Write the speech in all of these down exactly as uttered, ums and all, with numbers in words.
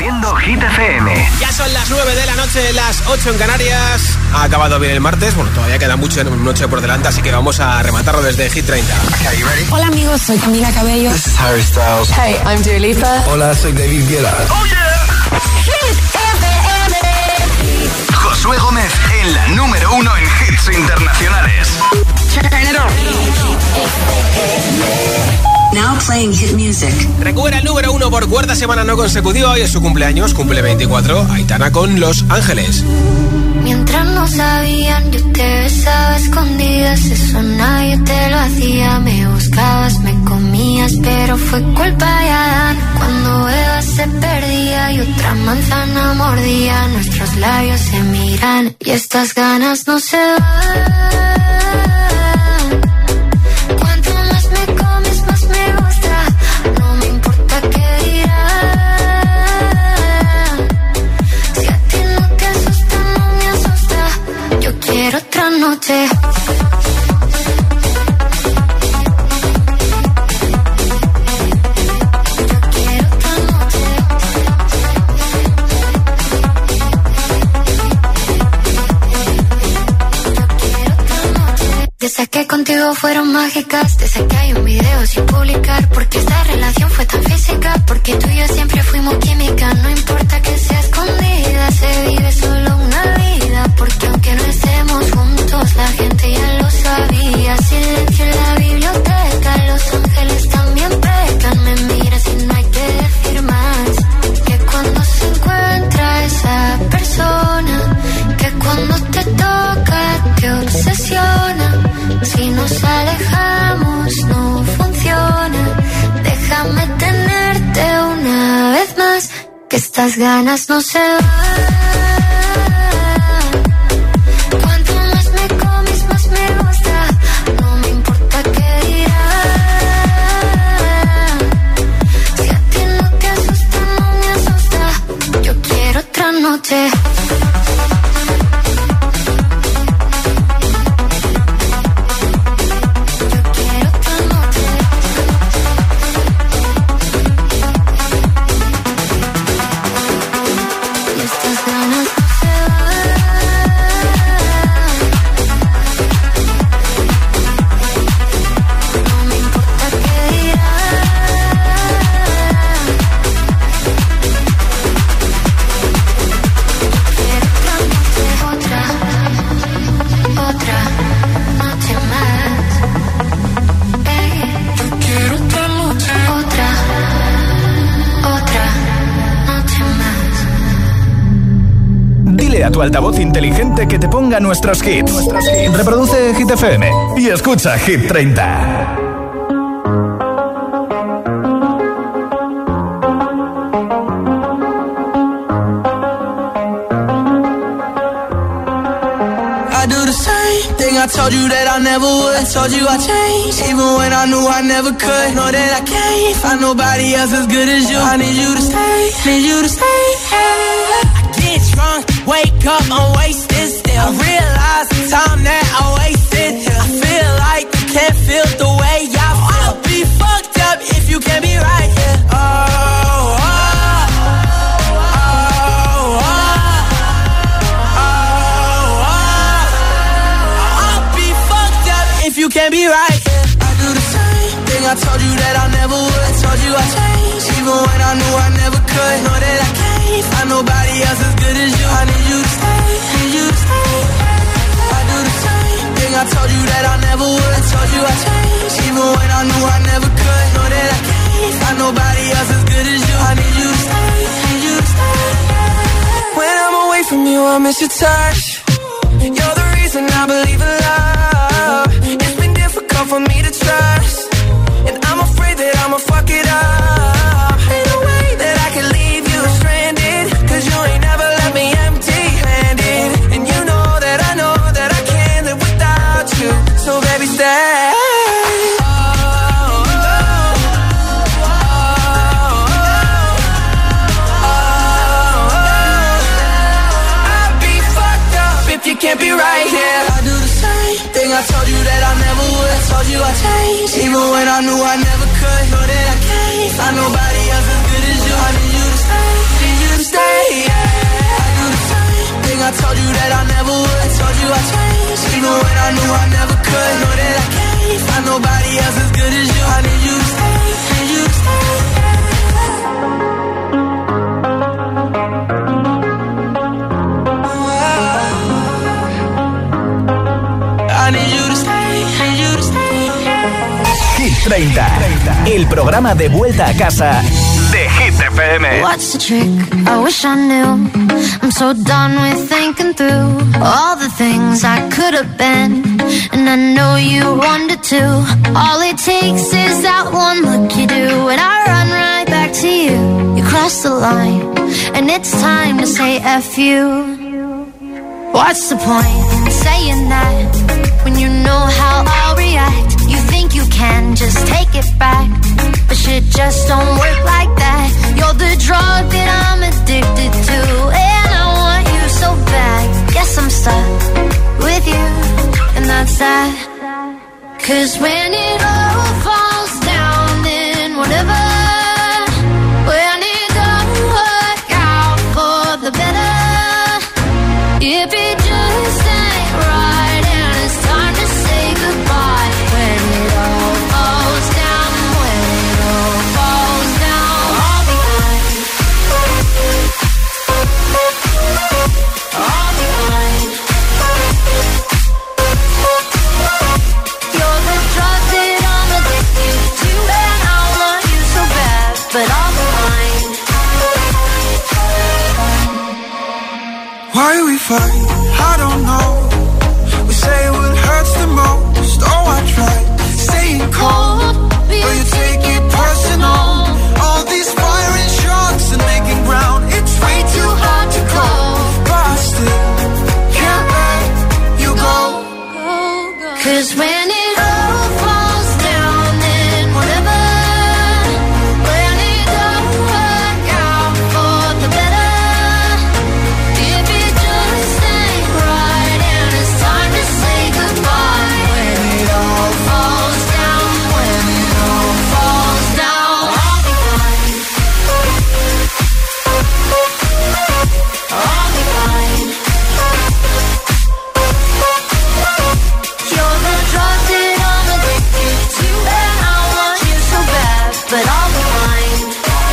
Haciendo Hit F M. Ya son las nueve de la noche, las ocho en Canarias. Ha acabado bien el martes. Bueno, todavía queda mucho en noche por delante, así que vamos a rematarlo desde Hit treinta. Okay, you ready? Hola amigos, soy Camila Cabello. This is Harry Styles. Hey, I'm Dua Lipa. Hola, soy David Guetta. ¡Oh, yeah! Hit F M. Josué Gómez en la número uno en hits internacionales. Turn it on. Now playing hit music. Recupera el número uno por cuarta semana no consecutiva. Hoy es su cumpleaños, cumple veinticuatro. Aitana con Los Ángeles. Mientras no sabían, yo te besaba a escondidas. Eso nadie te lo hacía. Me buscabas, me comías, pero fue culpa de Adán. Cuando Eva se perdía y otra manzana mordía, nuestros labios se miran y estas ganas no se van. Cuanto más me comes, más me gusta. No me importa qué dirán. Si a ti no te asusta, no me asusta. Yo quiero otra noche. Desde que contigo fueron mágicas, desde que hay un video sin publicar, porque esta relación fue tan física, porque tú y yo siempre fuimos química. No importa que sea escondida, se vive solo una vida, porque aunque no estemos juntos, la gente ya lo sabía. Silencio en la biblioteca, los ángeles también pecan. Me miras y no hay que decir más, que cuando se encuentra esa persona, que cuando te toca te obsesiona. Si nos alejamos no funciona. Déjame tenerte una vez más, que estas ganas no se van. Cuanto más me comes, más me gusta. No me importa qué dirán. Si a ti no te asusta, no me asusta. Yo quiero otra noche. A tu altavoz inteligente que te ponga nuestros hits. Reproduce Hit F M y escucha Hit treinta. I do the same thing I told you that I never would. I told you I changed, even when I knew I never could. Know that I can't find nobody else as good as you. I need you to stay, need you to stay. Get drunk, wake up, I'm wasted still. I realize the time that I wasted here. I feel like you can't feel the way I feel. I'll be fucked up if you can't be right here. Oh, oh, oh, oh, oh, oh. I'll be fucked up if you can't be right here. I do the same thing I told you that I never would. I told you I changed, even when I knew I never could. Know that I can't find nobody else as good as you. I need you to stay, need you to stay. I do the same thing I told you that I never would. I told you I changed, even when I knew I never could. Know that I can't find nobody else as good as you. I need you to stay, need you to stay. When I'm away from you, I miss your touch. You're the reason I believe in love. It's been difficult for me to trust, and I'm afraid that I'ma fuck it up. Ain't no way that I can leave you stranded, cause you ain't never left me empty-handed. And you know that I know that I can't live without you. So baby stay. Oh, oh, oh, oh, oh. I'd be fucked up if you can't be right here. I do the same thing I told you that I never would. I told you I changed, even when I knew I never could. Know that I can't find nobody else as good as you. I need you to stay, need you to treinta, el programa de vuelta a casa de Hit F M. What's the trick? I wish I knew. I'm so done with thinking through all the things I could have been, and I know you wanted to. All it takes is that one look you do, and I run right back to you. You cross the line, and it's time to say F you. What's the point in saying that when you know how I'll react? You think you can just take it back, but shit just don't work like that. You're the drug that I'm addicted to, and I want you so bad. Guess I'm stuck with you, and that's that. Cause when it all falls down, then whatever, when it don't work out for the better, if it just ain't right and it's time to say goodbye, when it all falls down, when it all falls down, I'll be fine. I'll be fine. You're the drug that I'm addicted to, and I want you so bad, but I'll be fine. Why we fight, I don't know. We say what hurts the most. Oh, I tried staying cold, but you take it personal. All these firing shots and making ground, it's way too hard to call, but I still can't let you go. Cause when it all falls down, then whatever, when it don't work out for the better, if it just ain't right and it's time to say goodbye, when it all falls down, when it all falls down, I'll be fine. I'll be fine. You're the drug that I'm addicted to, and I want you so bad, but I'll be fine.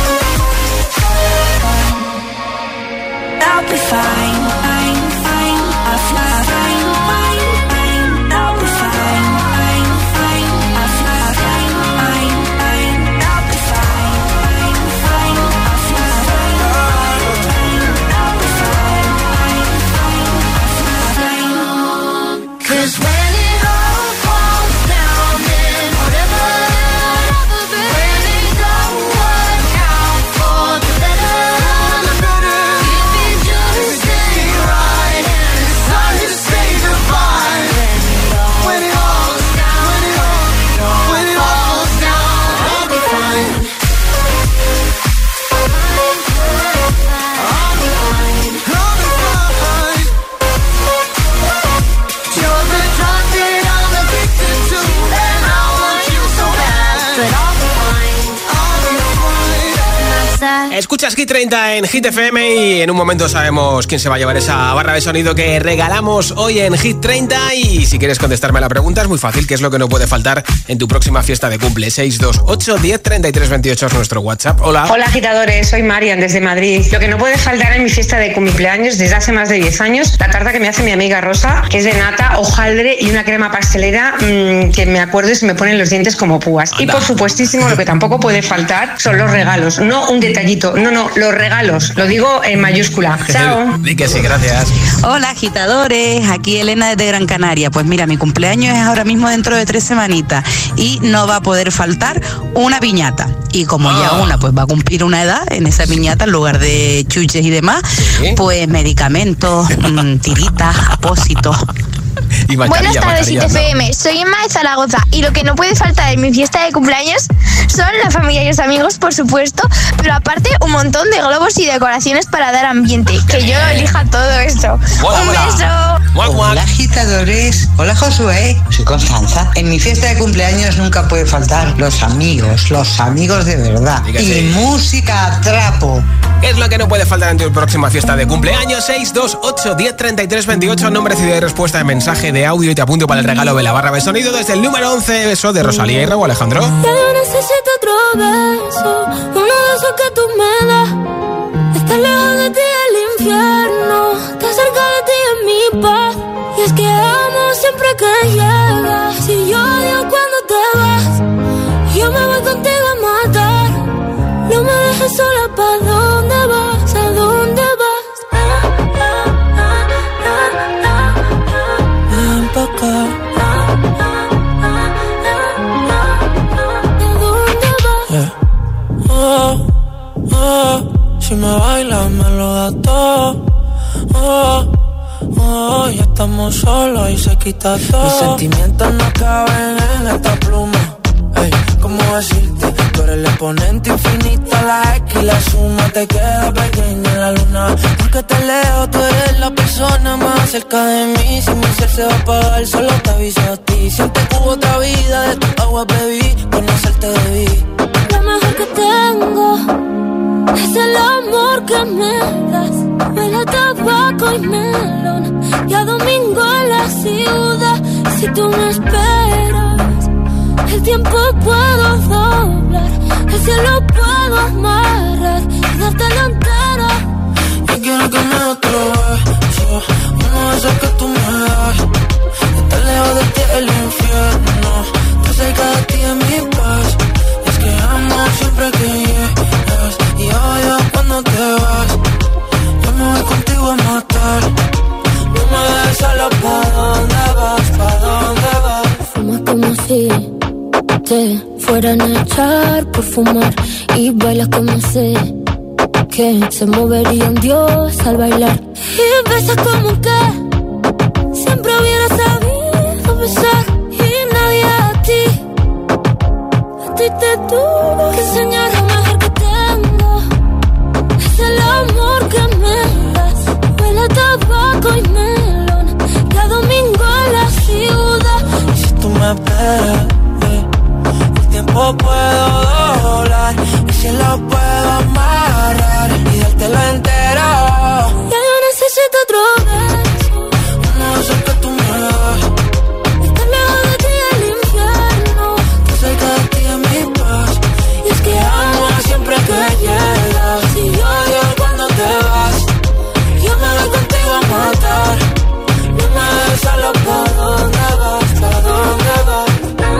I'll be fine, fine, fine, I'll fly, fine, fine, fine. I'll be fine, fine, fine, I'll fly, fine, fine, fine. I'll be fine, fine, fine, I'll fly, fine, fine, fine. I'll be fine, fine, fine, I'll fly, fine. 'Cause when it all falls down, then whatever, when it don't work out for the better, if it just ain't right and it's time to say goodbye, when it all falls down, when it all falls down, I'll be fine. I'll be fine. I'll be fine. You're the drug that I'm addicted to, and I want you so bad, but I'll be fine. I'll be fine. And that's that. Escuchas Hit treinta en Hit F M y en un momento sabemos quién se va a llevar esa barra de sonido que regalamos hoy en Hit treinta. Y si quieres contestarme a la pregunta es muy fácil, ¿qué es lo que no puede faltar en tu próxima fiesta de cumple? seis dos ocho, diez, treinta y tres, veintiocho es nuestro WhatsApp. Hola. Hola agitadores, soy Marian desde Madrid. Lo que no puede faltar en mi fiesta de cumpleaños desde hace más de diez años, la tarta que me hace mi amiga Rosa, que es de nata, hojaldre y una crema pastelera mmm, que me acuerdo y se me ponen los dientes como púas. Y Anda. por supuestísimo, lo que tampoco puede faltar son los regalos, no un detallito, no, no, los regalos, lo digo en mayúscula. Chao. Di que sí, gracias. Hola agitadores, aquí Elena desde Gran Canaria. Pues mira, mi cumpleaños es ahora mismo dentro de tres semanitas y no va a poder faltar una piñata. Y como ya Ah. una pues va a cumplir una edad, en esa piñata en lugar de chuches y demás, Sí. pues medicamentos, mm, tiritas, apósitos. Y Buenas mascarilla, tardes, mascarilla, I T no. F M. Soy Emma de Zaragoza y lo que no puede faltar en mi fiesta de cumpleaños son la familia y los amigos, por supuesto, pero aparte un montón de globos y decoraciones para dar ambiente. Que yo elija todo esto. Mola, Un mola. beso. Guac, guac. Hola agitadores, hola Josué, soy Constanza. En mi fiesta de cumpleaños nunca puede faltar los amigos, los amigos de verdad. Diga Y sí. música a trapo. ¿Qué es lo que no puede faltar en tu próxima fiesta de cumpleaños? seis dos ocho, diez, treinta y tres, veintiocho, nombre, ciudad y respuesta de mensaje de audio y te apunto para el regalo de la barra de sonido desde el número once, eso de Rosalía y Raúl Alejandro. Ya yo necesito otro beso, uno de esos que tú me das. Estar lejos de ti es el infierno, estar cerca de ti es mi paz. Y es que amo siempre que llegas, y yo odio cuando te vas. me lo das todo. Oh, oh, ya estamos solos y se quita todo. Mis sentimientos no caben en esta pluma. Ey, ¿cómo decirte? Tú eres el exponente infinito, la X y la suma te queda pequeña en la luna. Porque te leo, tú eres la persona más cerca de mí. Si mi ser se va a apagar, solo te aviso a ti. Siente que hubo otra vida, de tu agua bebí, conocerte debí. Lo mejor que tengo es el amor que me das. Huele a tabaco y melón y a domingo en la ciudad. Si tú me esperas, el tiempo puedo doblar, el cielo puedo amarrar y darte la entera. Yo quiero que me des otro beso, uno de esos que tú me das. Estar lejos de ti es el infierno, estar cerca de ti es mi paz. Es que amo siempre que llegas y odio cuando te vas. Yo me voy contigo a matar, no me dejes solo. ¿Pa' dónde vas? ¿Pa' dónde vas? Fuma como si te fueran a echar por fumar y bailas como sé que se movería un dios al bailar. Y besas como que siempre hubiera sabido besar y nadie a ti, a ti te tuvo que enseñar. Lo mejor que tengo es el amor que me das. Huele a tabaco y melón y a domingo en la ciudad. Y si tú me esperas, el tiempo puedo doblar, el cielo puedo amarrar y dártelo entero. Ya yo necesito otro beso, uno de esos que tú me das. estar lejos de ti el infierno, Estar cerca de ti es mi paz. y es que amo Siempre que llegas y odio cuando te vas. Yo me voy contigo a matar, no me dejes solo. ¿Pa' dónde vas? ¿Pa' dónde vas?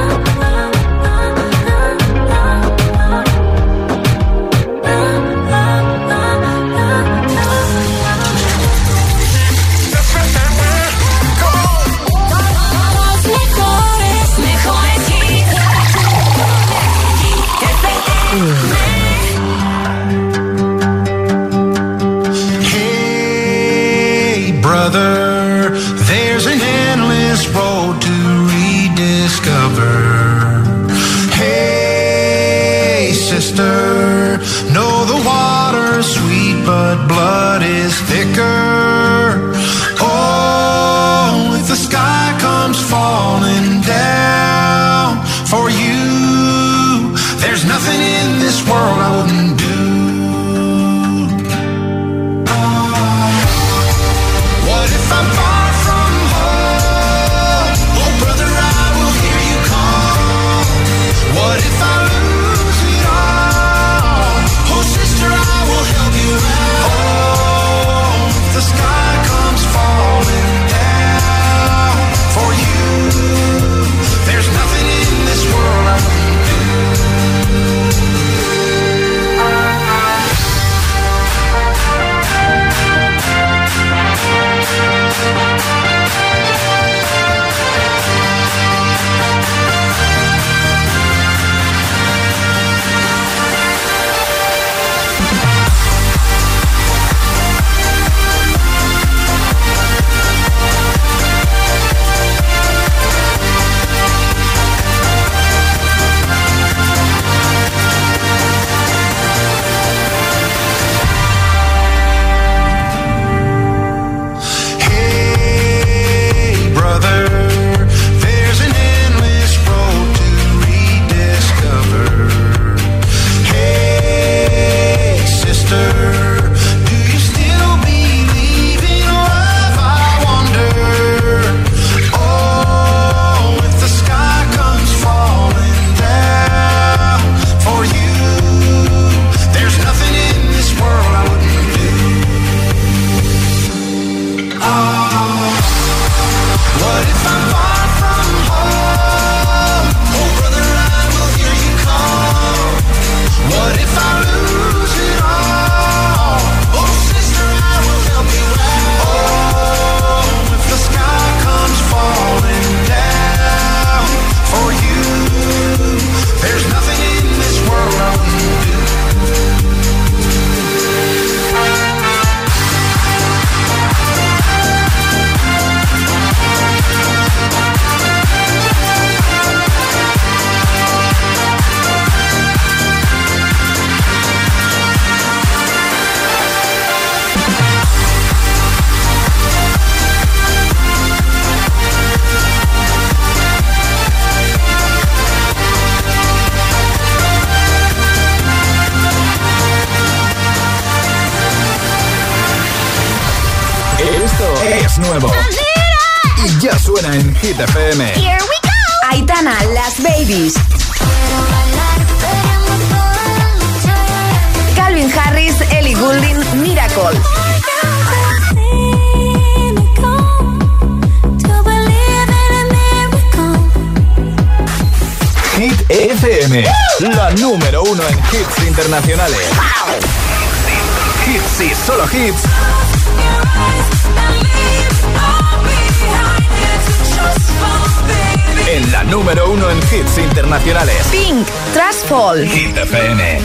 Hey, brother, there's an endless road to rediscover. Hey, sister, know the water's sweet, but blood is thicker. Oh, if the sky comes falling down for you, there's nothing in this world I wouldn't do. What if I'm far from home? Oh, brother, I will hear you call. What if I lose it all? Oh, sister, I will help you out. Oh, if the Esto es nuevo y ya suena en Hit F M. Here we go. Aitana, Las Babies. Calvin Harris, Ellie Goulding, Miracle. Hit F M, la número uno en hits internacionales. Hits y solo hits. En la número uno en hits internacionales. Pink, Trustfall. Hit F M.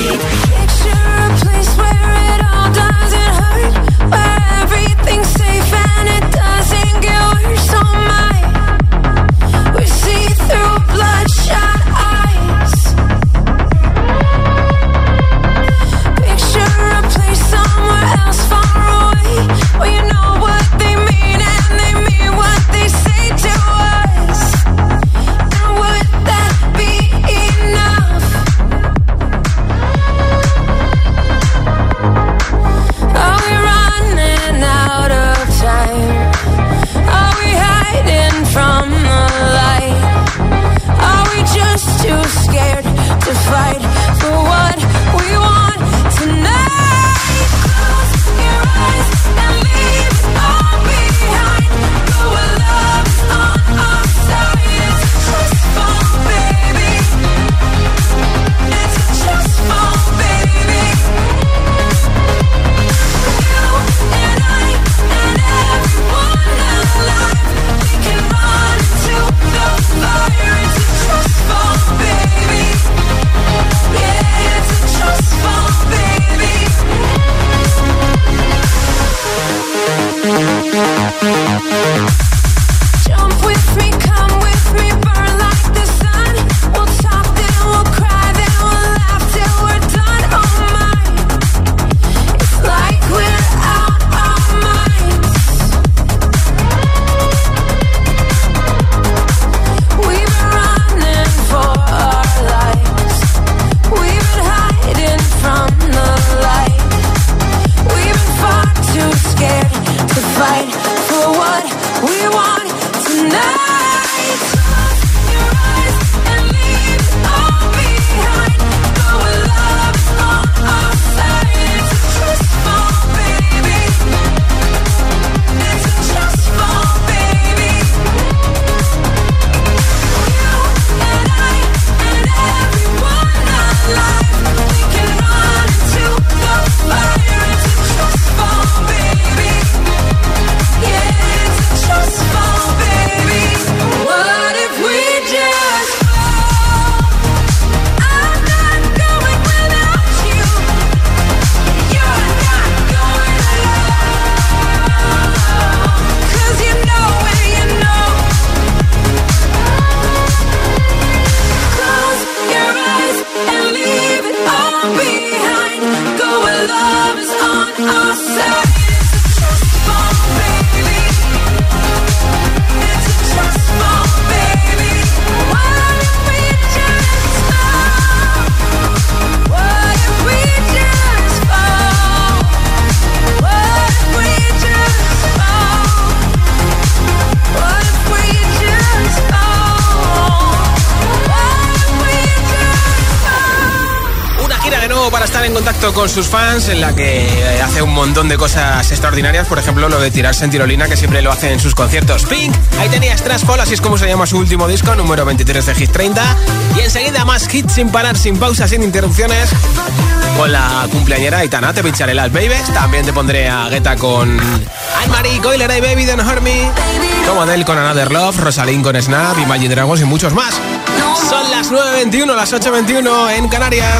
En contacto con sus fans, en la que hace un montón de cosas extraordinarias, por ejemplo lo de tirarse en tirolina, que siempre lo hace en sus conciertos. Pink, ahí tenías Trustfall, así es como se llama su último disco, número veintitrés de Hit treinta, y enseguida más hits sin parar, sin pausas, sin interrupciones, con la cumpleañera Aitana. Te pincharé Las Babies, también te pondré a Guetta con Anne-Marie, Coiler y Baby Don't Hurt Me, como Adele con Another Love, Rosalind con Snap, Imagine Dragons y muchos más. Son las nueve veintiuno, las ocho veintiuno en Canarias.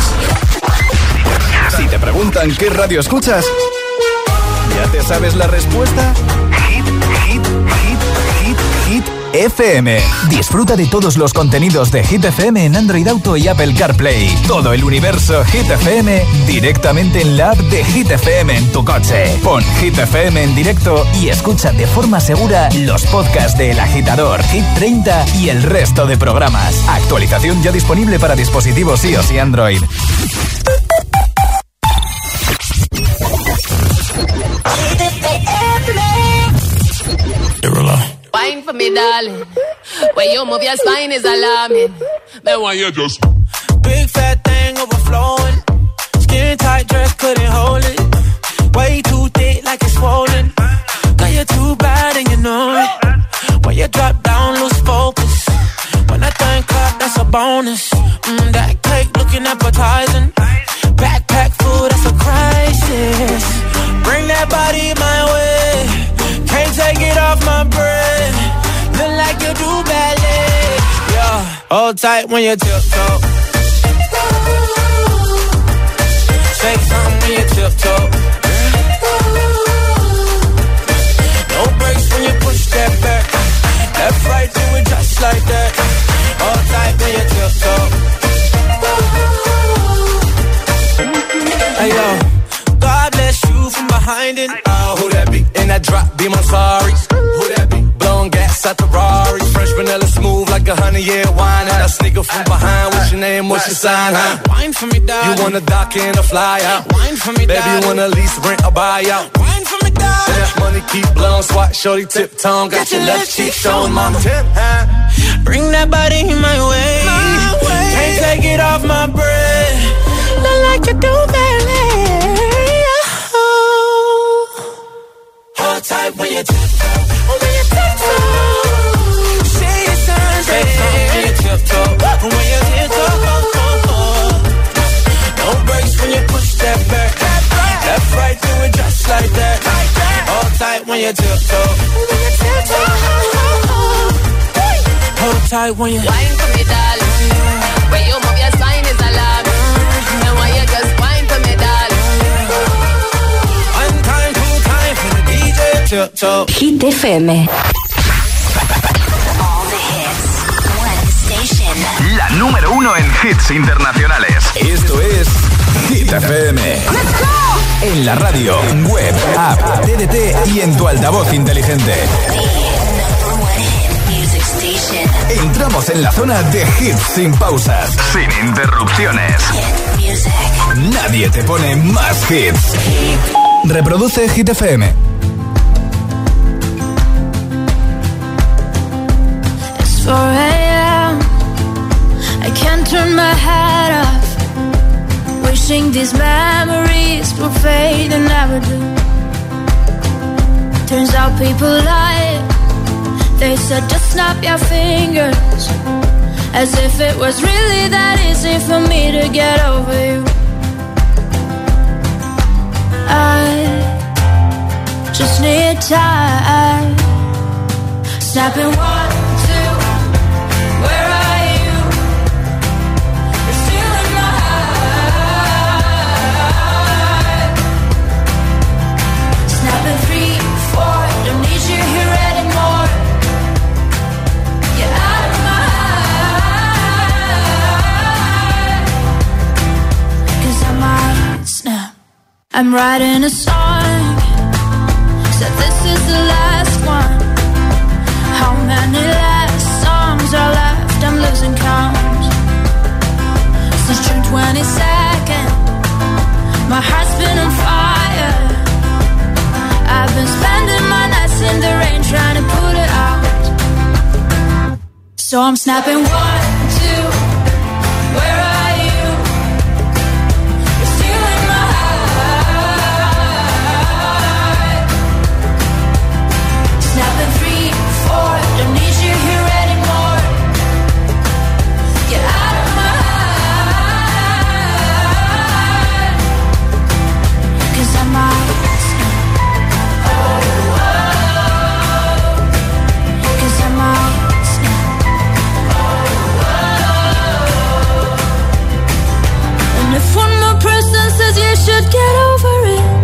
Si te preguntan qué radio escuchas, ¿ya te sabes la respuesta? Hit, hit, hit, hit, hit F M. Disfruta de todos los contenidos de Hit F M en Android Auto y Apple CarPlay. Todo el universo Hit F M directamente en la app de Hit F M en tu coche. Pon Hit F M en directo y escucha de forma segura los podcasts de El Agitador, Hit treinta y el resto de programas. Actualización ya disponible para dispositivos iOS y Android. Wine for me, darling. When you move your spine is alarming. Then why you just big fat thing overflowing. Skin tight dress couldn't hold it. Way too thick like it's swollen. Girl, you're too bad and you know it. When you drop down, lose focus. When I think clap, that's a bonus. Mm, that cake looking appetizing. Backpack food, that's a crisis. Bring that body my way. Can't take it off my breath. Look like you do ballet. Yeah, hold tight when you tiptoe. Say something when you tiptoe. No brakes when you push that back. Left, right, do it just like that. Hold tight when you tiptoe. Hey yo, God bless you from behind it. Oh, who that be? In that drop, be my sorry. Who that be? Blowing gas at the Rari. Fresh vanilla smooth like a honey year wine. And I sneak up from behind. What's your name? What's your sign? Huh? Wine for me, darling. You wanna dock in or fly out? Wine for me, darling. Baby, you wanna lease, rent, or buy out? Wine for me, darling. That money keep blowing, swat, shorty, tip tongue. Got, Got your left cheek showing, mama. Tip, huh? Bring that body my way. my way. Can't take it off my breath. Look like you do ballet. Hold tight when you tiptoe. When you tiptoe. Say your signs. Say something when you tiptoe. When you tiptoe. No brakes when you push that back. Left, right, do it just like that. Hold tight when you tiptoe. When you tiptoe. Hold tight when you wine for me, darling. When you move your spine is alarming. And when you just wine for me, darling. One time, two time for the D J. Tiptoe. Hit F M. All the hits. One station. La número uno en hits internacionales. Esto es Hit F M. Let's go. En la radio, web, app, T D T y en tu altavoz inteligente. Entramos en la zona de hits sin pausas, sin interrupciones. Nadie te pone más hits. Reproduce Hit F M. It's four a.m. I can't turn my head off. Wishing these memories will fade and never do. Turns out people lie. They said just snap your fingers. As if it was really that easy for me to get over you. I just need time. Snapping one, two. Where are you? You're still in my heart. Snapping three, four. Don't need you here anymore. You're out of my heart. 'Cause I might snap. I'm writing a song. Said this is the last one. How many last songs are left? I'm losing count. Since June twenty-second, my heart's been on fire. I've been spending my nights in the rain trying to put it out. So I'm snapping one, two. Where are you? You're still in my heart. Snapping three, four. Don't need you here anymore. Get out of my heart. 'Cause I might snap. Oh, oh. 'Cause I might snap. Oh, oh. And if one more person says you should get over it,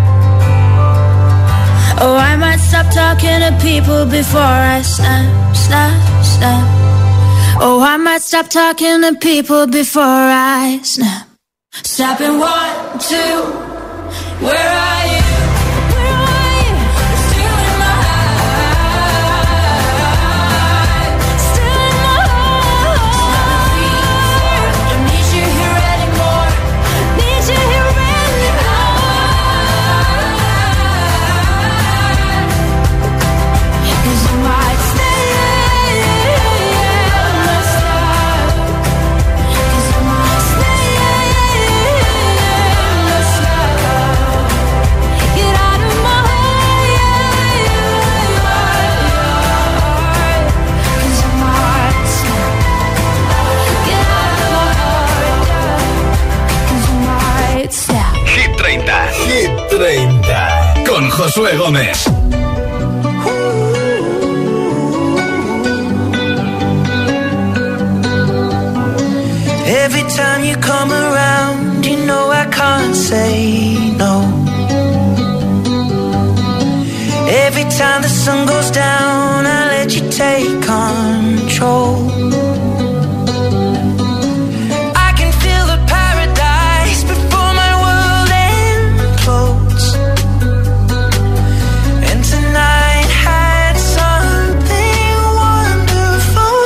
oh, I might stop talking to people before I snap, snap, snap. Oh, I might stop talking to people before I snap. Snapping one, two. Where are you? Where are you? You're still in my heart. Still in my heart. Don't need you here anymore. Need you here anymore. Josué Gómez. Every time you come around, you know I can't say no. Every time the sun goes down, I let you take control. I can feel the paradise before my world implodes. And tonight had something wonderful.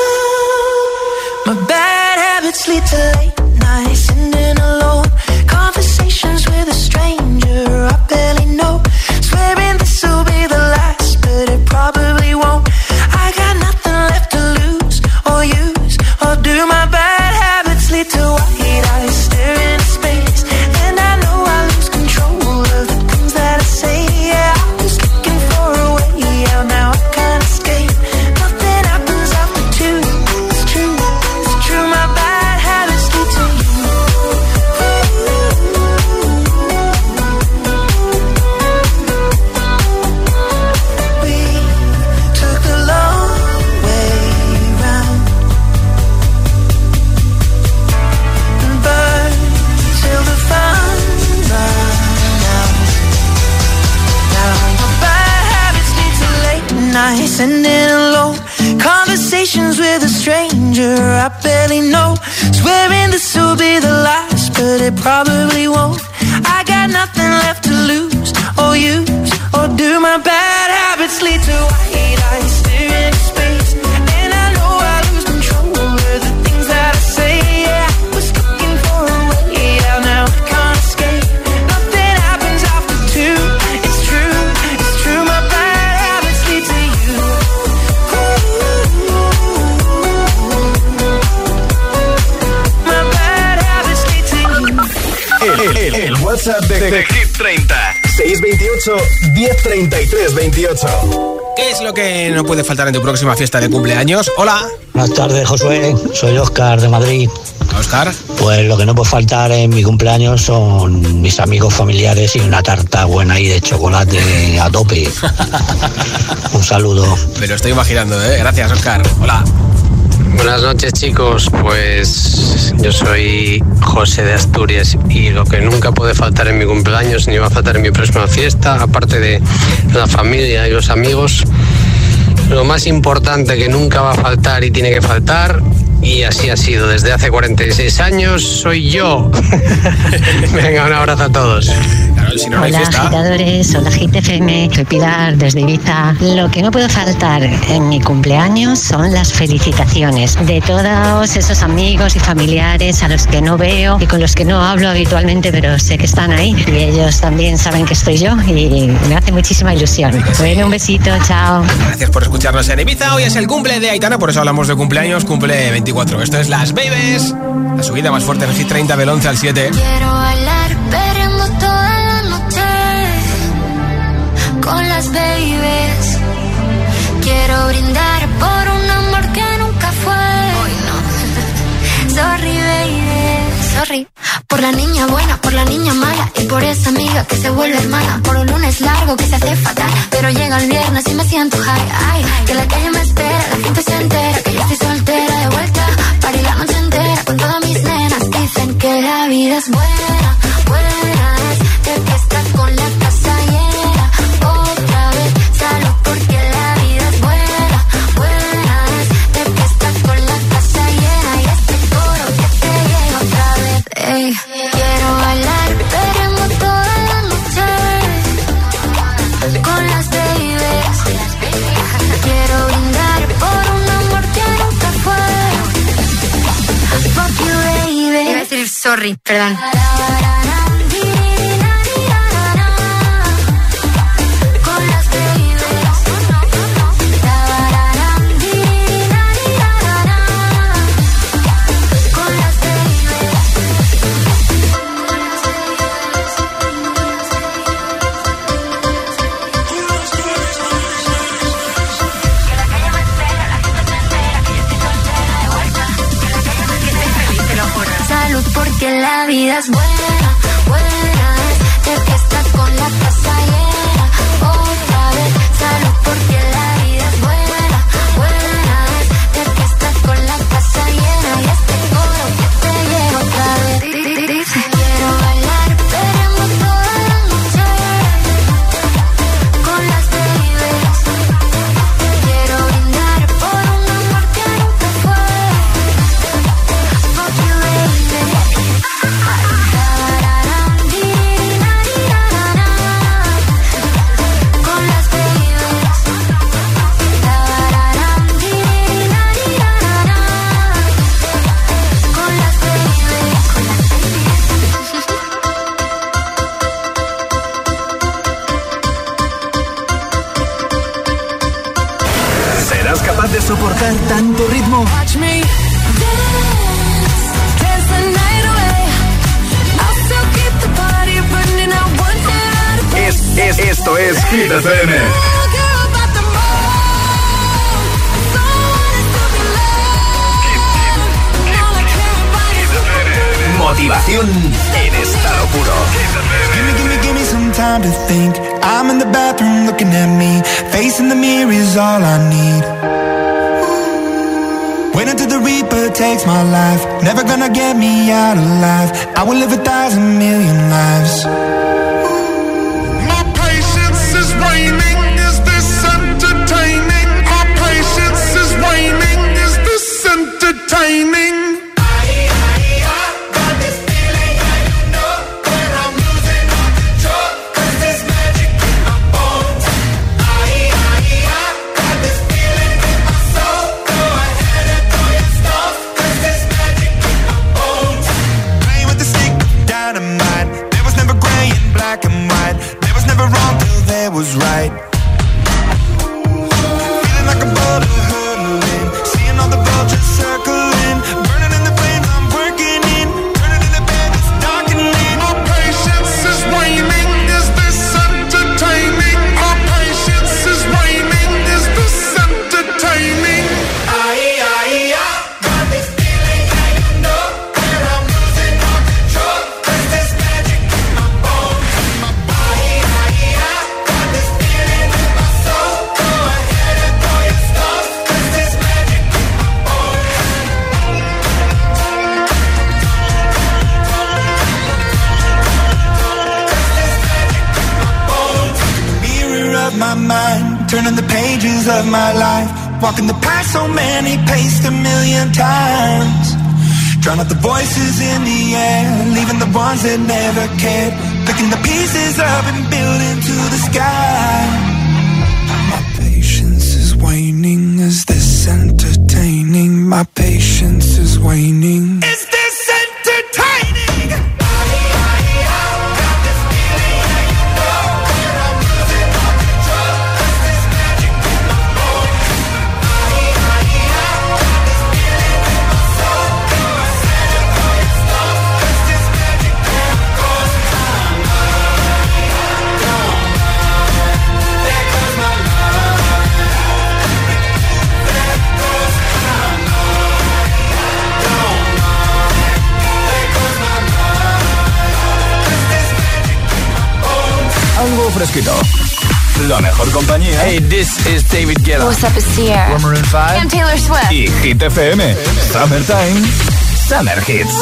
My bad habits lead to late nights, sitting alone. Conversations with a stranger I barely know. Swearing this will be the last, but it probably won't. I got nothing left to lose or use or do. My bad habits lead to white eyes staring into space, and I know I lose control of the things that I say. Yeah, I was looking for a way out, now I can't escape. Nothing happens after two. It's true, it's true. My bad habits lead to you. We took the long way round and burned till the fun ran out. Now my bad habits lead to late nights, sending alone. Conversations with a stranger I barely know. Swearing this will be the last, but it probably won't. I got nothing left to lose or use or do. My bad habits lead to white eyes staring into space, and I know I lose control of the things that I say. Yeah, I was looking for a way out, now I can't escape. Nothing happens after two. It's true, it's true. My bad habits lead to you. My bad habits lead to you. El, el, el WhatsApp de, de Hit treinta. seis veintiocho, diez treinta y tres veintiocho. ¿Qué es lo que no puede faltar en tu próxima fiesta de cumpleaños? Hola. Buenas tardes, Josué. Soy Óscar de Madrid. Óscar. Pues lo que no puede faltar en mi cumpleaños son mis amigos familiares y una tarta buena ahí de chocolate a tope. Un saludo. Me lo estoy imaginando, ¿eh? Gracias, Óscar. Hola. Buenas noches, chicos. Pues yo soy José de Asturias y lo que nunca puede faltar en mi cumpleaños ni va a faltar en mi próxima fiesta, aparte de la familia y los amigos, lo más importante que nunca va a faltar y tiene que faltar, y así ha sido desde hace cuarenta y seis años, soy yo. Venga, un abrazo a todos. Claro, si no, no hay Hola, fiesta. agitadores, hola Hit F M, soy Pilar desde Ibiza. Lo que no puede faltar en mi cumpleaños son las felicitaciones de todos esos amigos y familiares a los que no veo y con los que no hablo habitualmente, pero sé que están ahí y ellos también saben que estoy yo y me hace muchísima ilusión. Bueno, un besito, chao. Gracias por escucarnos en Ibiza. Hoy es el cumple de Aitana, por eso hablamos de cumpleaños, cumple veinticuatro. Esto es Las Babies, la subida más fuerte en Hit treinta del once al siete. Quiero bailar perreando toda la noche con las babies. Quiero brindar por un amor que nunca fue. Hoy no. Sorry, baby, sorry. Por la niña buena, por la niña mala y por esa amiga que se vuelve hermana. Por un lunes largo que se hace fatal, pero llega el viernes y me siento high. Ay, que la calle me espera, la gente se entera que yo estoy soltera de vuelta. Party la noche entera con todas mis nenas. Dicen que la vida es buena, buena es de que estás con la casa llena. Otra vez salud porque la vida es buena, buena es de que estás con la casa llena. Y este coro que te llega otra vez. Ey, quiero bailar perreando toda la noche con las babies. Quiero brindar por un amor que nunca fue. Fuck you, baby. Iba a decir sorry, perdón. Con las babies. Con las salud porque la vida es buena, buena es de que estás con la casa llena. de soportar tanto ritmo? Es, es, esto es Hit F M. Motivación en estado puro. Give me, give me, give me some time to think. I'm in the bathroom looking at me. Facing the mirror is all I need. Wait until the Reaper takes my life. Never gonna get me out alive. I will live a thousand million lives. My patience is waning. Is this entertaining? My patience is waning. Is this entertaining? Was right. Feeling like a boulder hurtling, seeing all the vultures circling, burning in the flames I'm working in, turning in the bed it's darkening. My patience is waning. Is this entertaining? My patience is waning. Is this entertaining? Aye, aye, aye. Got this feeling and you know where I'm losing all control. There's this magic in my bones, in my body. Aye, aye, aye. My mind, turning the pages of my life, walking the path so many paced a million times, drown out the voices in the air, leaving the ones that never cared, picking the pieces up and building to the sky. My patience is waning. Is this entertaining? My patience is waning. Is this entertaining? Algo fresquito. La mejor compañía. Hey, this is David Guetta. What's up, it's Sierra. We're Maroon five. I'm Taylor Swift. Y Hit F M. Summertime. Summer Hits.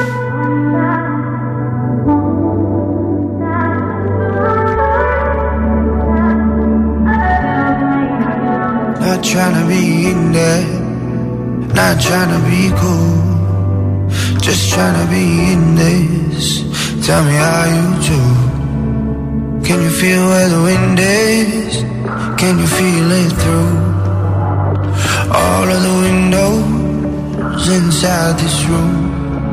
Not trying to be in there, not trying to be cool, just trying to be in this. Tell me how you do. Can you feel where the wind is? Can you feel it through all of the windows inside this room?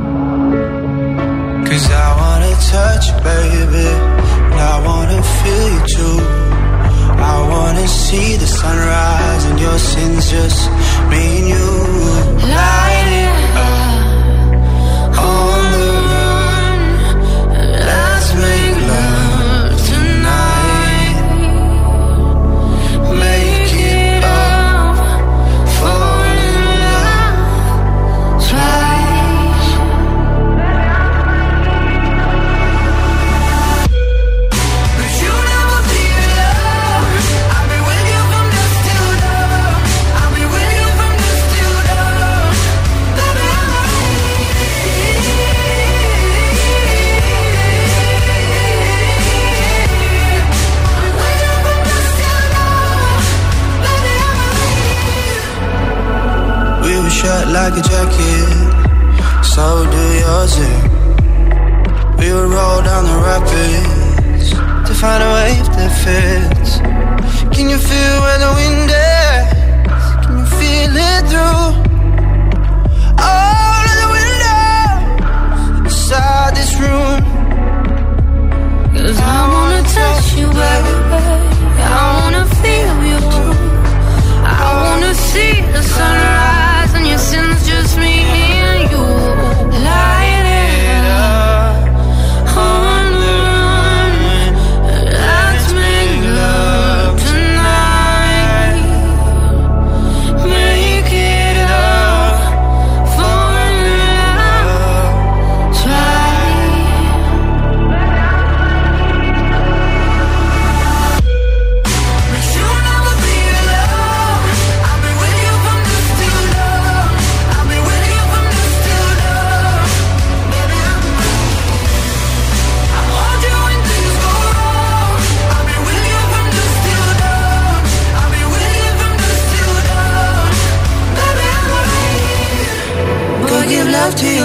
'Cause I wanna touch you, baby, and I wanna feel you too. I wanna see the sunrise and your sins, just me and you. Light it up on the run, let's make love tonight. Make it up, fall in love twice. But you never be alone. I'll be with you from dusk till dawn. I'll be with you from dusk till dawn. Baby, I'm we were shut like a jacket, so do yours. eh? We would roll down the rapids to find a wave that fits. Can you feel where the wind is? Can you feel it through all of the windows inside this room? 'Cause I wanna touch you, baby. I wanna feel you too. I wanna see the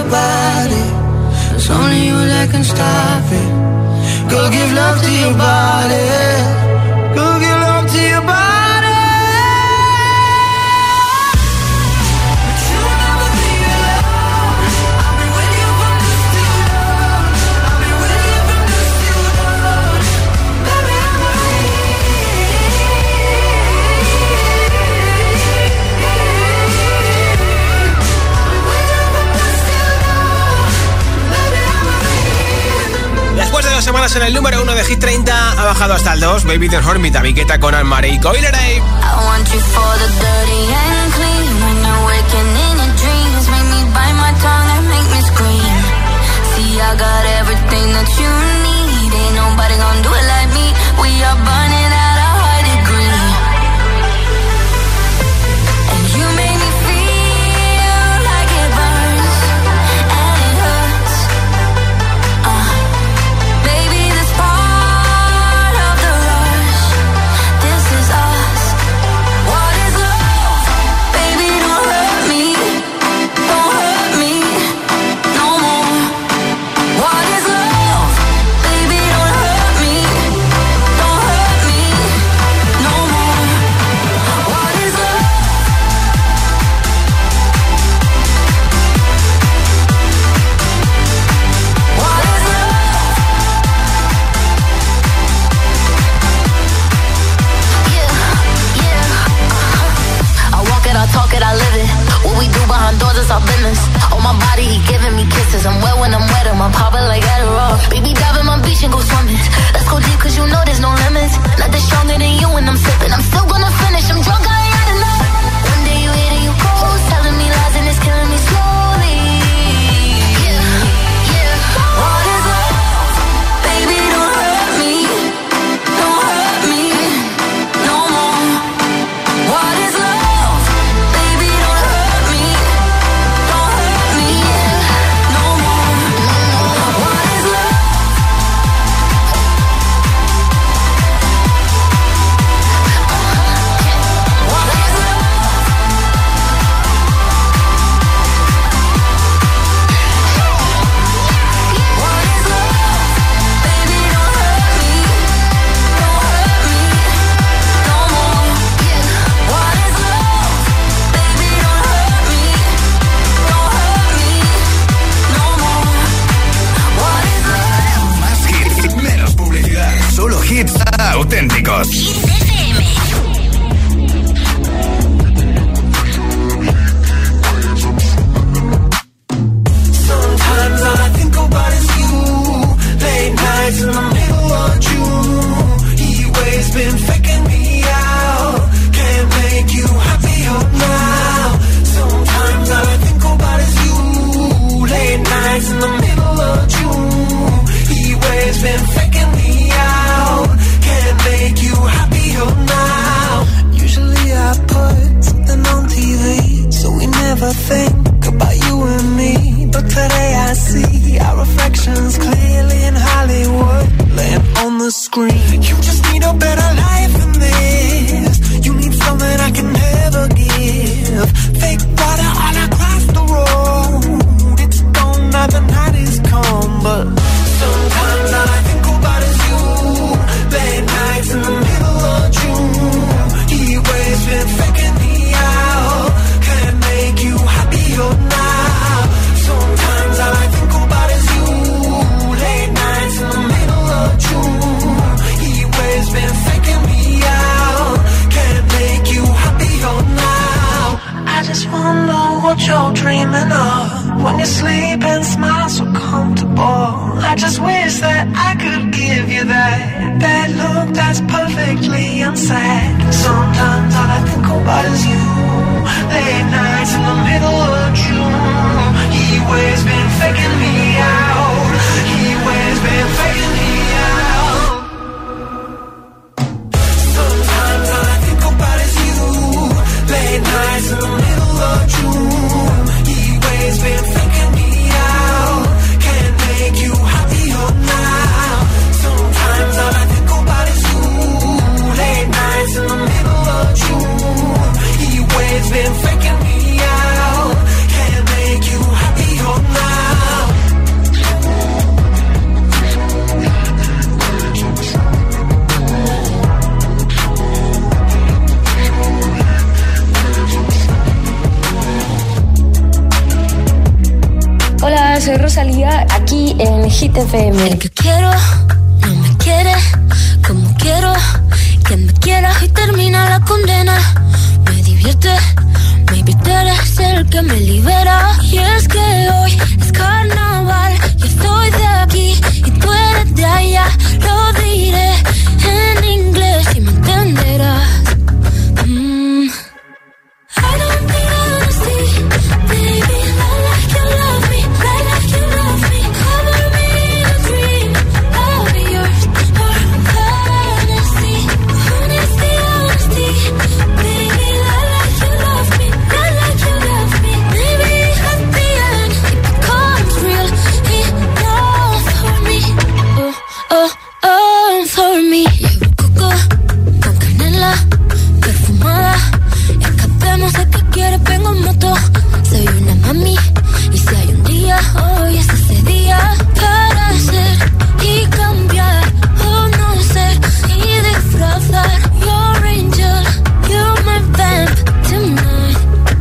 about it. It's only you that can stop it. Go give love to your body. Go give love to your body. Después de dos semanas en el número uno de Hit treinta, ha bajado hasta el dos. Baby Don't Hurt Me, David Guetta con Anne-Marie y Coileray. I want you for the dirty and clean. When you're waking in your dreams, make me bite my tongue and make me scream. See, I got everything that you need. Ain't nobody gonna do it like me. We are burning at a high degree. And you make me feel like it burns and it hurts. Uh, baby, this part of the rush. This is us. What is love? Baby, don't hurt me. Don't hurt me no more. What is love? Baby, don't hurt me. Don't hurt me no more. What is love? What is love? Yeah, yeah. Uh-huh. I walk it, I talk it, I live it. What we do behind doors is our business. On my body, he giving me kisses. I'm wet when I'm wet, I'm popping like Adderall. Baby, dive in my beach and go swimming. Let's go deep, cause you know there's no limits. Nothing stronger than you when I'm sipping. I'm still gonna finish, I'm drunk, I ain't had enough. One day you hit and you cold, telling me lies and it's killing me slowly. Yeah, yeah. What is love? Baby, don't hurt me. Don't hurt me no more. What is love? Baby, don't hurt me. Don't hurt me no more. What is love? What is love? What is love? Baby, don't hurt me. Don't hurt me no more. What is love? Baby, don't hurt me. Don't hurt me no more. What is love? Más hits, menos publicidad. Solo hits auténticos. Sometimes all I think about is you. Late nights in the middle of June. He always been faking me out. Can't make you happier now. Sometimes all I think about is you. Late nights in the middle of June. He always been faking me out. Can't make you happier now. Usually I put something on T V, so we never think about you and me. But today I see our reflections clearly in Hollywood, laying on the screen. You just need a better life than this. You need something I can never give. Fake water all across the road. It's gone now, the night is come. But sometimes all I think about is you. Late nights in the middle of June. He always been faking me out. Can't make you happier now. Sometimes all I think about is you. Late nights in the middle of June. He always been faking me out. Can't make you happier now. I just wonder what you're dreaming of. When you sleep and smile so comfortable. I just wish that I could give you that. That look that's perfectly unsaid. Sometimes all I think about is you. Late nights in the middle of June. He always been faking me out. He always been faking me out. Sometimes all I think about is you. Late nights in the middle of June. He always been faking me out. Can't make you happier now. Sometimes all I think about is you. Late nights in the middle of June. He always been faking me out. Can't make you happier now. soy Rosalía, aquí en Hit F M. El que quiero no me quiere como quiero que me quiera y termina la condena. Me divierte, maybe tú eres el que me libera. Y es que hoy es carnaval, yo estoy de aquí y tú eres de allá. Lo diré en inglés y me entenderás. Mm. I don't need honesty, baby. I like you love me, I like you love me. Cover me in a dream, I'll be yours for fantasy. Honesty, honesty, baby. I like you love me, I like you love me. Maybe at the end it becomes real enough for me. Oh, oh, oh, for me. Llevo coco con canela perfumada. Escapemos de que quieres, vengo en moto. Soy una mami y si hay un día, hoy es ese día para ser y cambiar o no ser y disfrazar. Your angel, you're my vamp tonight.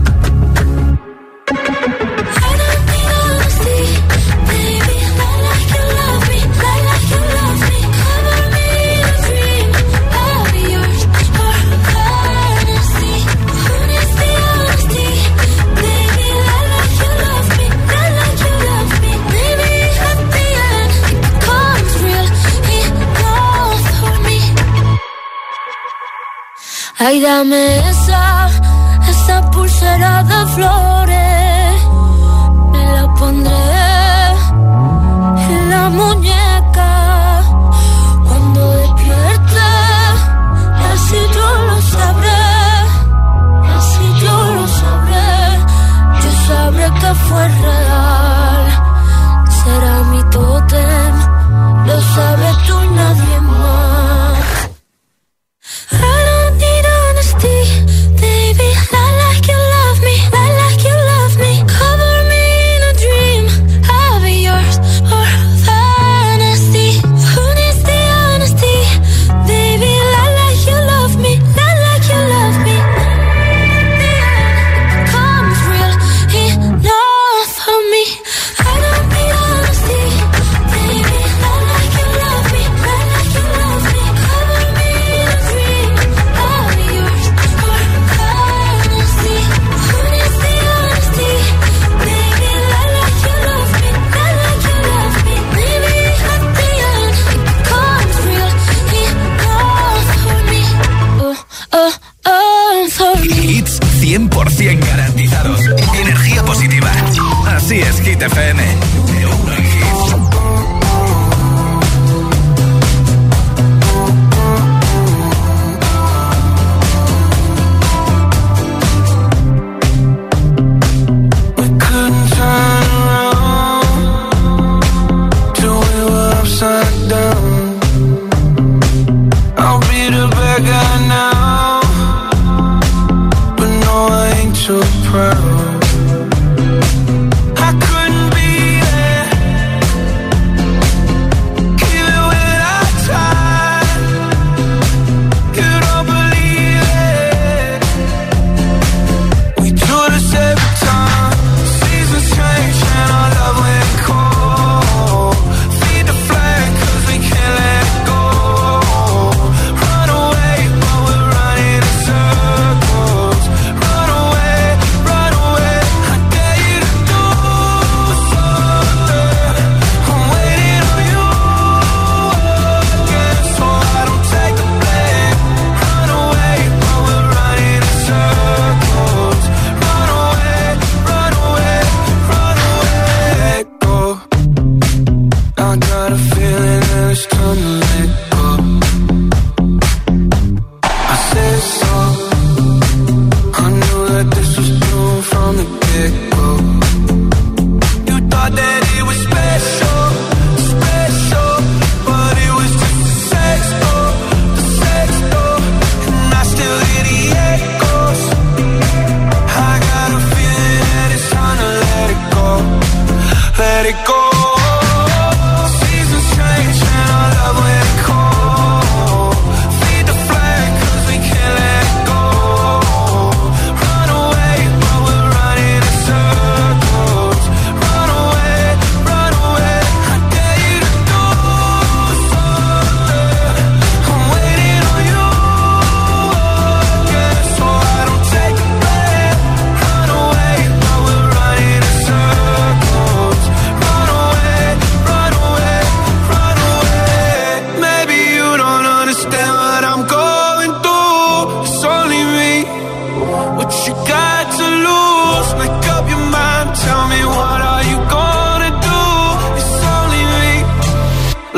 I don't need honesty, baby. I like you love me, I like you love me. Cover me in a dream, I'll be yours for fantasy. Honesty, honesty, baby. I like you love me, I like you love me. Maybe at the end it becomes real enough for me. Ay, dame esa, esa pulsera de flores. Me la pondré en la muñeca cuando despierte. Así yo lo sabré, así yo lo sabré. Yo sabré que fue real. Será mi tótem, lo sabes tú y nadie más. I don't need honesty, baby. I like you love me, I like you love me. Cover me in a dream, I'll be yours for fantasy. Honesty, honesty, baby. I like you love me, I like you love me. The end becomes real enough for me. I don't need honesty, baby. I like you love me, I like you love me. Cover me in a dream, I'll be yours for fantasy. Honesty, honesty, baby. I like you love me, I like you love me. Maybe at the end it becomes real enough for me. Oh, oh, oh, for me. Hits cien por ciento garantizados. Energía positiva. Así es, Hit F M. De uno en hits. We couldn't turn around till we were upside down. I'll be the bad guy now, but no, I ain't too proud. I couldn't be there, even when I tried. You don't believe it. We do this every time. Seasons change and our love went cold. Feed the flame 'cause we can't let it go. Run away, but we're running in circles. Run away, run away.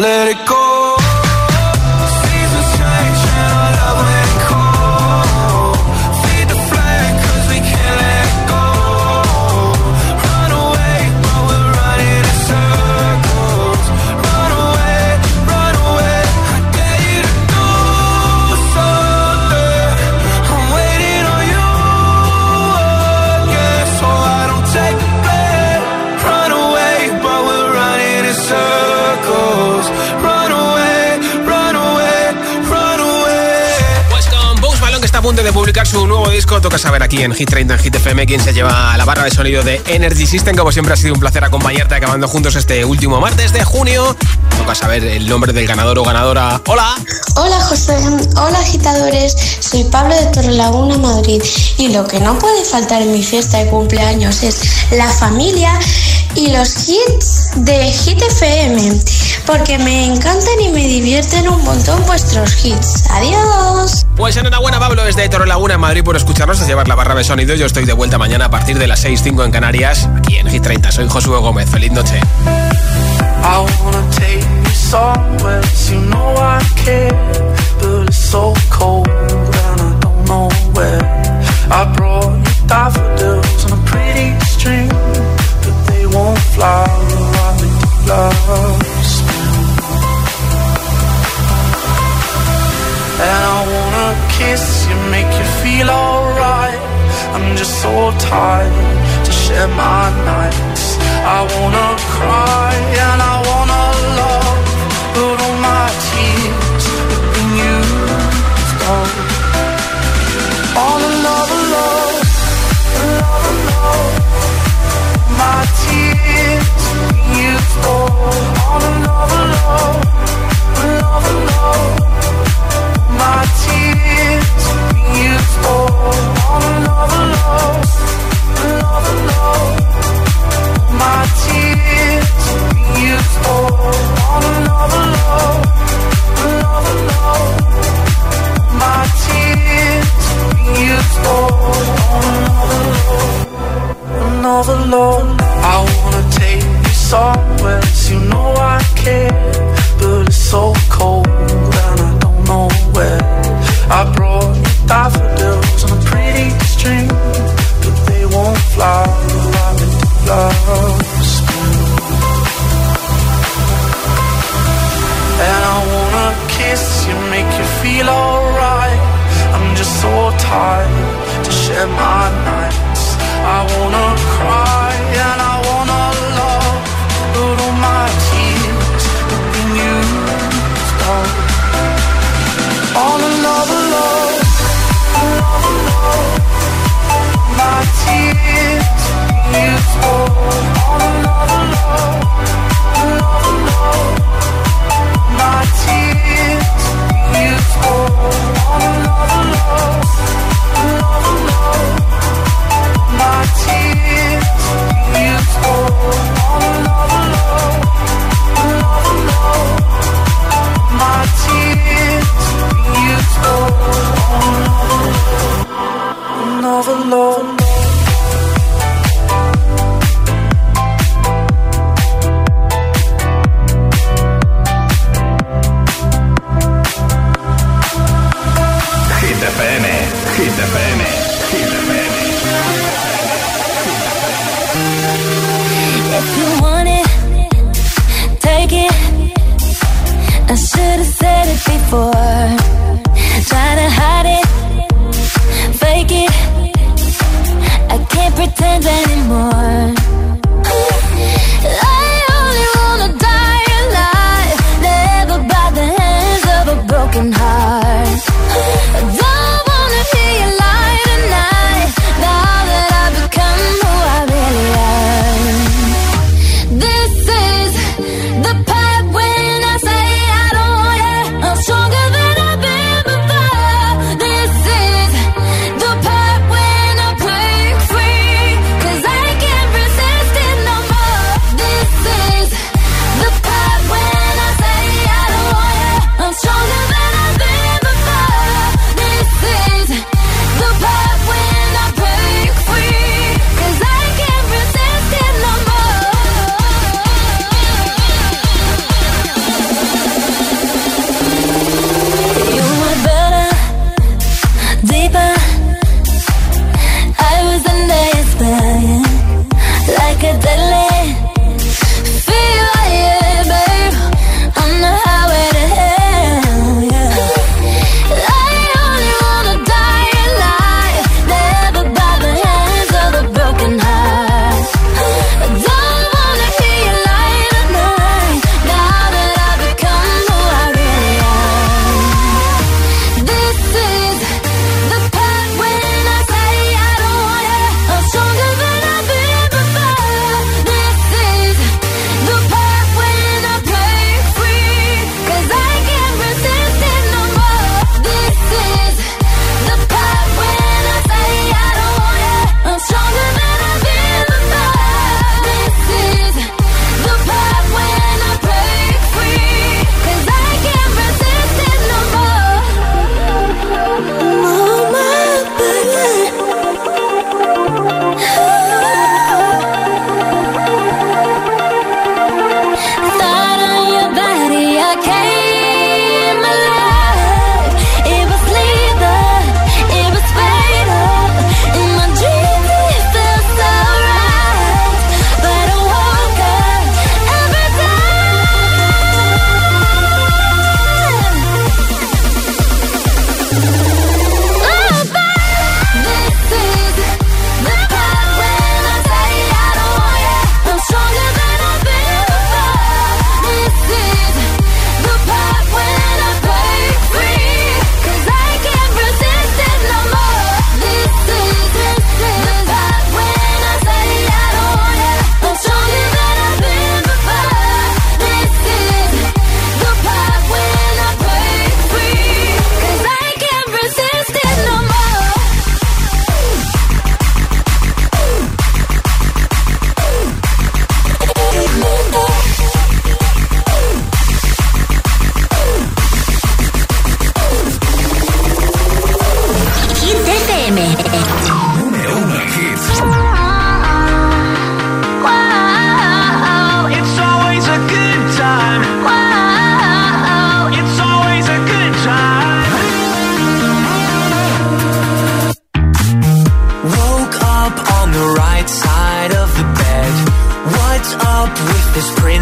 let it go. Seasons change and our love ain't cold. Feed the flame cause we can't let go. Run away but we're running in circles. Run away, run away. I dare you to do something. I'm waiting on you again, so I don't take the blame. Run away but we're running in circles. Run away, run away, run away. Pues con Post Malone, que está a punto de publicar su nuevo disco, toca saber aquí en Hit treinta, en Hit F M, quién se lleva la barra de sonido de Energy System. Como siempre ha sido un placer acompañarte acabando juntos este último martes de junio. Toca saber el nombre del ganador o ganadora. ¡Hola! Hola José, hola agitadores, soy Pablo de Torrelaguna, Madrid, y lo que no puede faltar en mi fiesta de cumpleaños es la familia y los hits de Hit F M, porque me encantan y me divierten un montón vuestros hits. ¡Adiós! Pues enhorabuena, Pablo, desde Torrelaguna, en Madrid, por escucharnos, a llevar la barra de sonido. Yo estoy de vuelta mañana a partir de las seis cinco en Canarias, aquí en Hit treinta. Soy Josué Gómez. Feliz noche. I wanna take you somewhere, you know I care, but it's so cold and I don't know where. I brought you daffodils on a pretty string, but they won't fly like they do last spring. And I wanna kiss you, make you feel alright. I'm just so tired to share my nights. I wanna cry and I wanna love, but all my tears have been used up on another love, another love. My tears have been used up on another love, another love. My tears have been used up on another love, another love. My tears have used all on another love, another love. My tears have used all on another love, another love. I wanna take you somewhere, you know I care, but it's so cold and I don't know where. I brought you daffodils on a pretty string, but they won't fly like they do last spring. And I wanna kiss you, make you feel alright. I'm just so tired to share my nights. I wanna cry and I wanna love, but all my tears have been used up on another love, another love. My tears have been used up on another love, another love. My tears have been used up on another love, another love. My tears have been used up on another love, another love. My tears have been used up on another love, another love. Hit F M, Hit F M, Hit F M. If you want it, take it. I should have said it before. Try to hide it, fake it. I can't pretend anymore. I only wanna die alive, never by the hands of a broken heart. I don't wanna be alive tonight, now that I've become who I really am. This is the part when I say I don't want it. I'm stronger than I've been.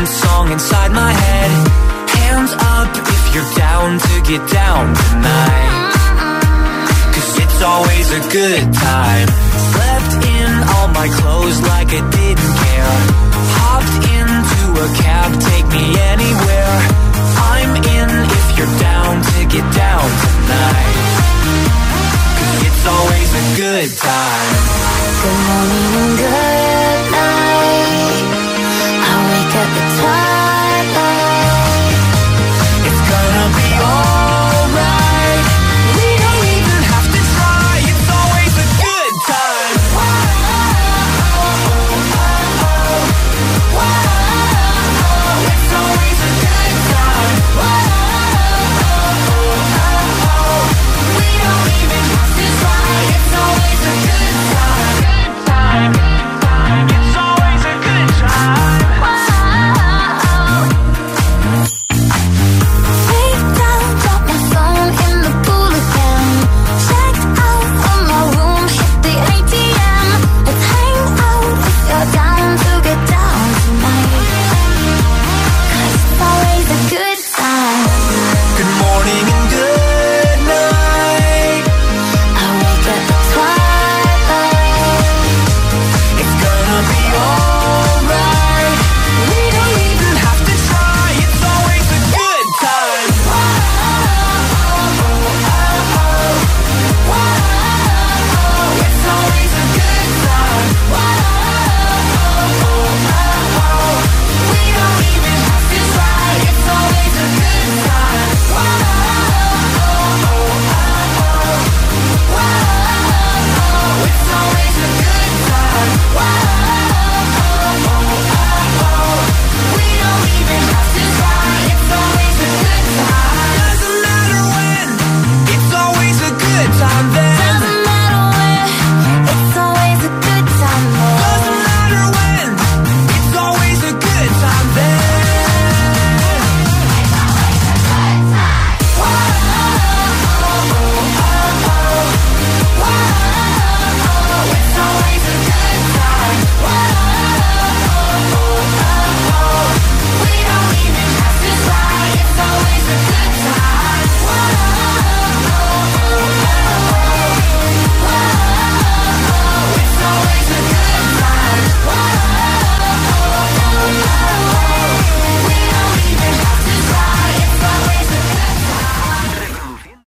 random song inside my head. Hands up if you're down to get down tonight. Cause it's always a good time. Slept in all my clothes like I didn't care. Hopped into a cab, take me anywhere. I'm in if you're down to get down tonight. Cause it's always a good time. Good morning,